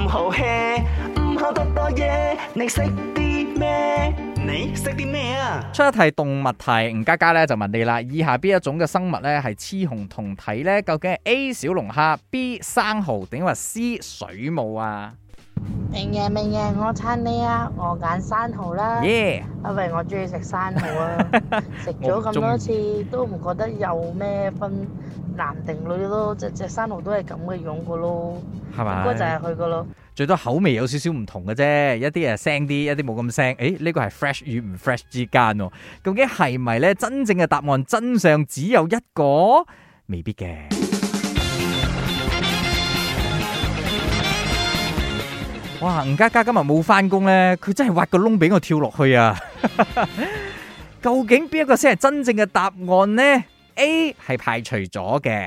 好 hea， 唔好多多嘢，你識啲咩？你識啲咩啊？ 出一題動物題，吳家家咧就問你啦，以下邊一種嘅生物咧係雌雄同體咧？究竟係 A 小龍蝦、B 生蠔定話 C 水母啊？ 明爺，我撐你啊！我揀生蠔啦， 耶！ 因為我中意食生蠔啊，食咗咁多次都唔覺得有咩分男定女咯，隻生蠔都係咁嘅樣噶咯， 係咪？ 應該就係佢噶咯。 最多口味有少少唔同嘅啫，一啲係腥啲，一啲冇咁腥。誒，呢個係 fresh 與唔 fresh 之間喎，究竟係咪呢？真正嘅答案真相只有一個，未必嘅。哇！吳家家今日冇翻工呢，佢真係挖個窿俾我跳落去啊！究竟邊一個先係真正嘅答案呢？ A 係排除咗嘅。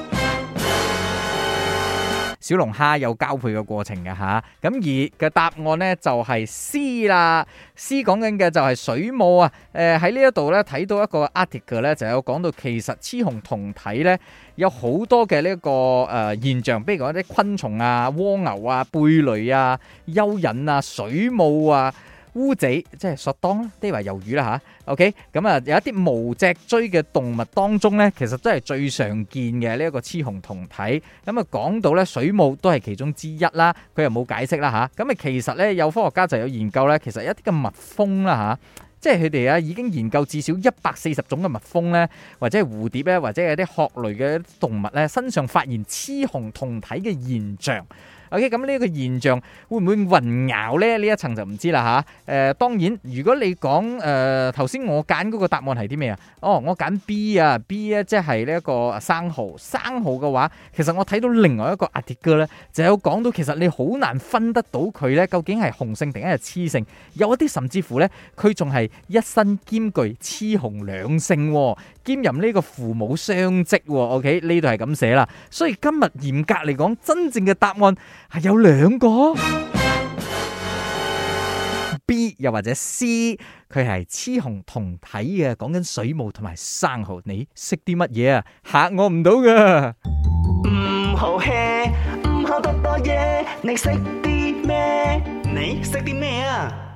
小龍蝦有交配嘅過程嘅吓，咁而嘅答案呢就係 C 啦。C 講緊嘅就係水母啊。喺呢一度呢睇到一個 article 呢就有講到，其實雌雄同體呢有好多嘅呢一個現象，比如講一啲昆蟲啊、蝸牛啊、貝類啊、蚯蚓啊、水母啊、烏賊即係索當啦，即係話魷魚啦吓。OK， 咁啊有一啲無脊椎嘅動物當中咧，其實都係最常見嘅呢一個雌雄同體。咁啊講到咧水母都係其中之一啦，佢又冇解釋啦吓。咁啊其實咧有科學家就有研究咧，其實一啲嘅蜜蜂啦吓。即係佢哋啊，已經研究至少140種嘅蜜蜂咧，或者係蝴蝶咧，或者係啲殼類嘅動物咧，身上發現雌雄同體嘅現象。OK， 咁呢個現象會唔會混淆咧？呢一層就唔知啦吓。當然，如果你講頭先我揀嗰個答案係啲咩啊？哦，我揀 B 啊 ，B 咧即係呢一個生蠔。生蠔嘅話，其實我睇到另外一個 article 咧，就有講到其實你好難分得到佢咧，究竟係雄性定係雌性。有一啲甚至乎咧，佢仲係一身兼具雌雄兩性，兼任呢個父母雙職。OK， 呢度係咁寫啦。所以今日嚴格嚟講，真正嘅答案係有兩個 B 又或者 C， 佢係雌雄同體嘅，講緊水母同埋生蠔。你識啲乜嘢啊？嚇我唔到噶。 唔好 hea， 唔好多多嘢，你識啲咩？你識啲咩啊？